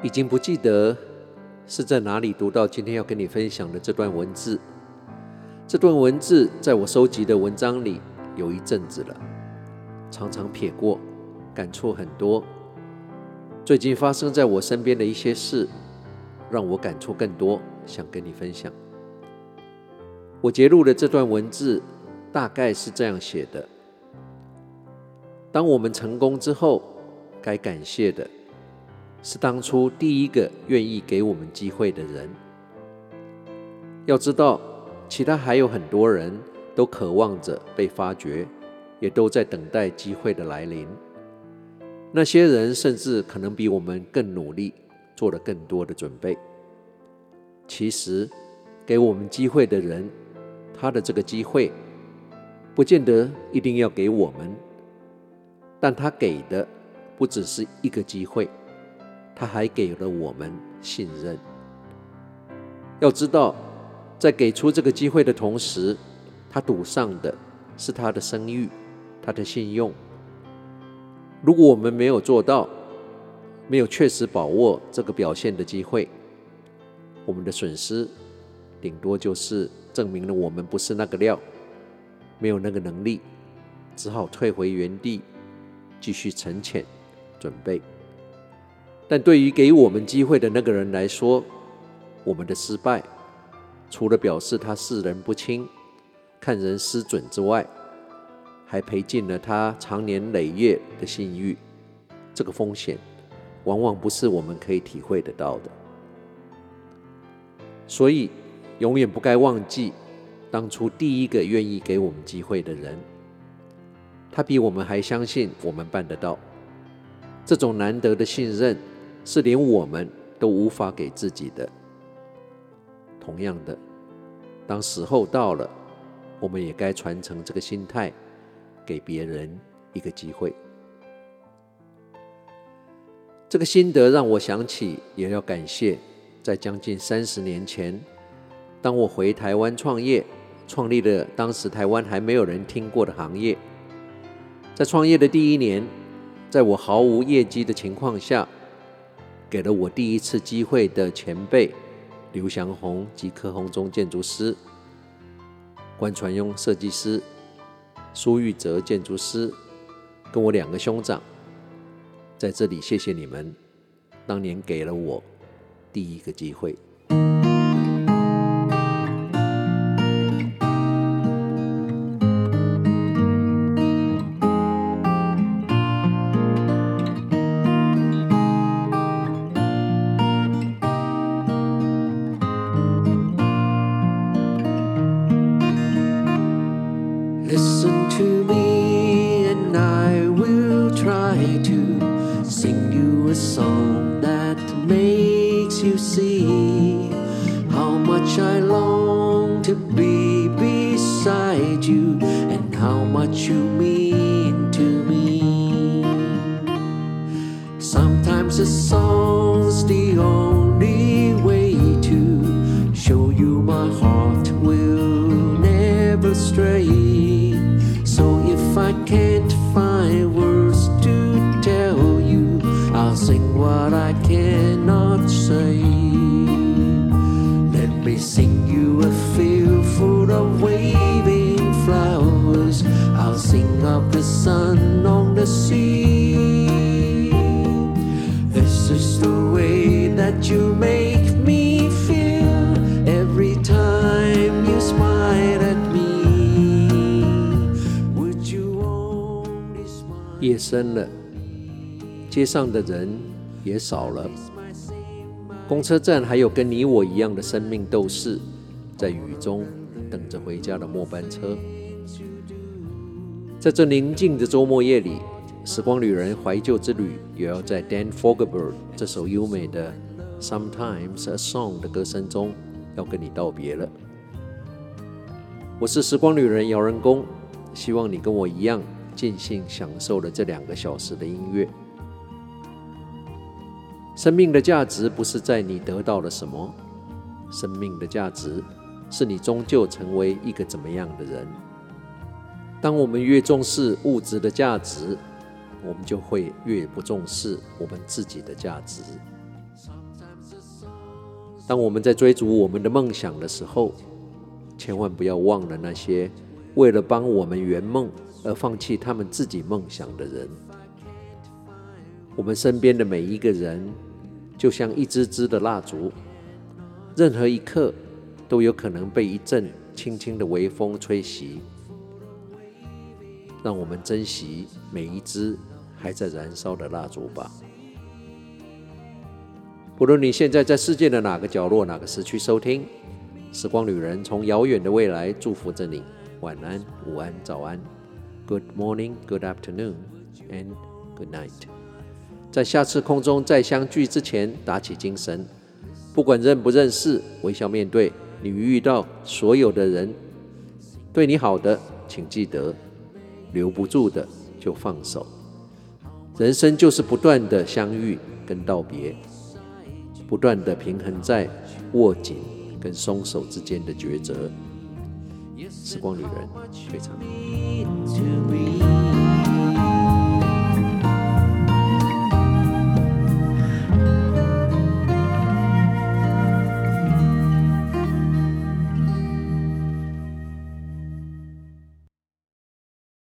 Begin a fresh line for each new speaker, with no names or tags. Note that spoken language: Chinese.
已經不記得是在哪裡讀到今天要跟你分享的這段文字。這段文字在我收集的文章裡有一陣子了，常常瞥過，感觸很多。最近發生在我身邊的一些事，讓我感觸更多，想跟你分享。我截錄的這段文字大概是這樣寫的：當我們成功之後，該感謝的是當初第一個願意給我們機會的人。要知道，其他還有很多人都渴望着被發掘，也都在等待機會的來臨。那些人甚至可能比我們更努力，做了更多的準備。其實，給我們機會的人，他的這個機會不見得一定要給我們，但他給的不只是一個機會，他還給了我們信任。要知道，在給出這個機會的同時，他賭上的是他的聲譽，他的信用。如果我們沒有做到，沒有確實把握這個表現的機會，我們的損失頂多就是證明了我們不是那個料，沒有那個能力，只好退回原地，繼續沉潛準備。但對於給我們機會的那個人來說，我們的失敗除了表示他識人不清，看人失準之外，還賠盡了他長年累月的信譽。這個風險往往不是我們可以體會得到的。所以永遠不該忘記當初第一個願意給我們機會的人，他比我們還相信我們辦得到。這種難得的信任是連我們都無法給自己的。同樣的，當時候到了，我們也該傳承這個心態，給別人一個機會。這個心得讓我想起，也要感謝在將近30年前，當我回台灣創業，創立了當時台灣還沒有人聽過的行業。在創業的第1年，在我毫無業績的情況下，給了我第一次機會的前輩劉祥宏及柯鴻忠建築師、關傳庸設計師、蘇玉哲建築師，跟我2個兄長，在這裡謝謝你們，當年給了我第一個機會。
Listen to me and I will try to sing you a song that makes you see how much I long to be beside you and how much you mean to me. Sometimes a song's the only way to show you my heart will never stray. So if I can't find words to tell you, I'll sing what I cannot say. Let me sing you a field full of waving flowers. I'll sing of the sun on the sea. This is the way that you make me feel every time you smile at me.
夜深了，街上的人也少了，公車站還有跟你我一樣的生命鬥士，在雨中等着回家的末班車。在這寧靜的週末夜裡，時光旅人懷舊之旅也要在 Dan Fogelberg 這首優美的 Sometimes a Song 的歌聲中要跟你道別了。我是時光旅人姚人工，希望你跟我一樣盡興享受了這2個小時的音樂。生命的價值不是在你得到了什麼，生命的價值是你終究成為一個怎麼樣的人。當我們越重視物質的價值，我們就會越不重視我們自己的價值。 當我們在追逐我們的夢想的時候，千萬不要忘了那些為了幫我們圓夢而放棄他們自己夢想的人。我們身邊的每一個人就像一支支的蠟燭，任何一刻都有可能被一陣輕輕的微風吹襲。讓我們珍惜每一支還在燃燒的蠟燭吧。不論你現在在世界的哪個角落、哪個時區收聽，時光旅人從遙遠的未來祝福着你。晚安、午安、早安 ，Good morning, Good afternoon, and Good night。在下次空中再相聚之前，打起精神，不管認不認識，微笑面對。你遇到所有的人，對你好的，請記得，留不住的就放手。人生就是不斷的相遇跟道別，不斷的平衡在握緊跟鬆手之間的抉擇。時光旅人，非常。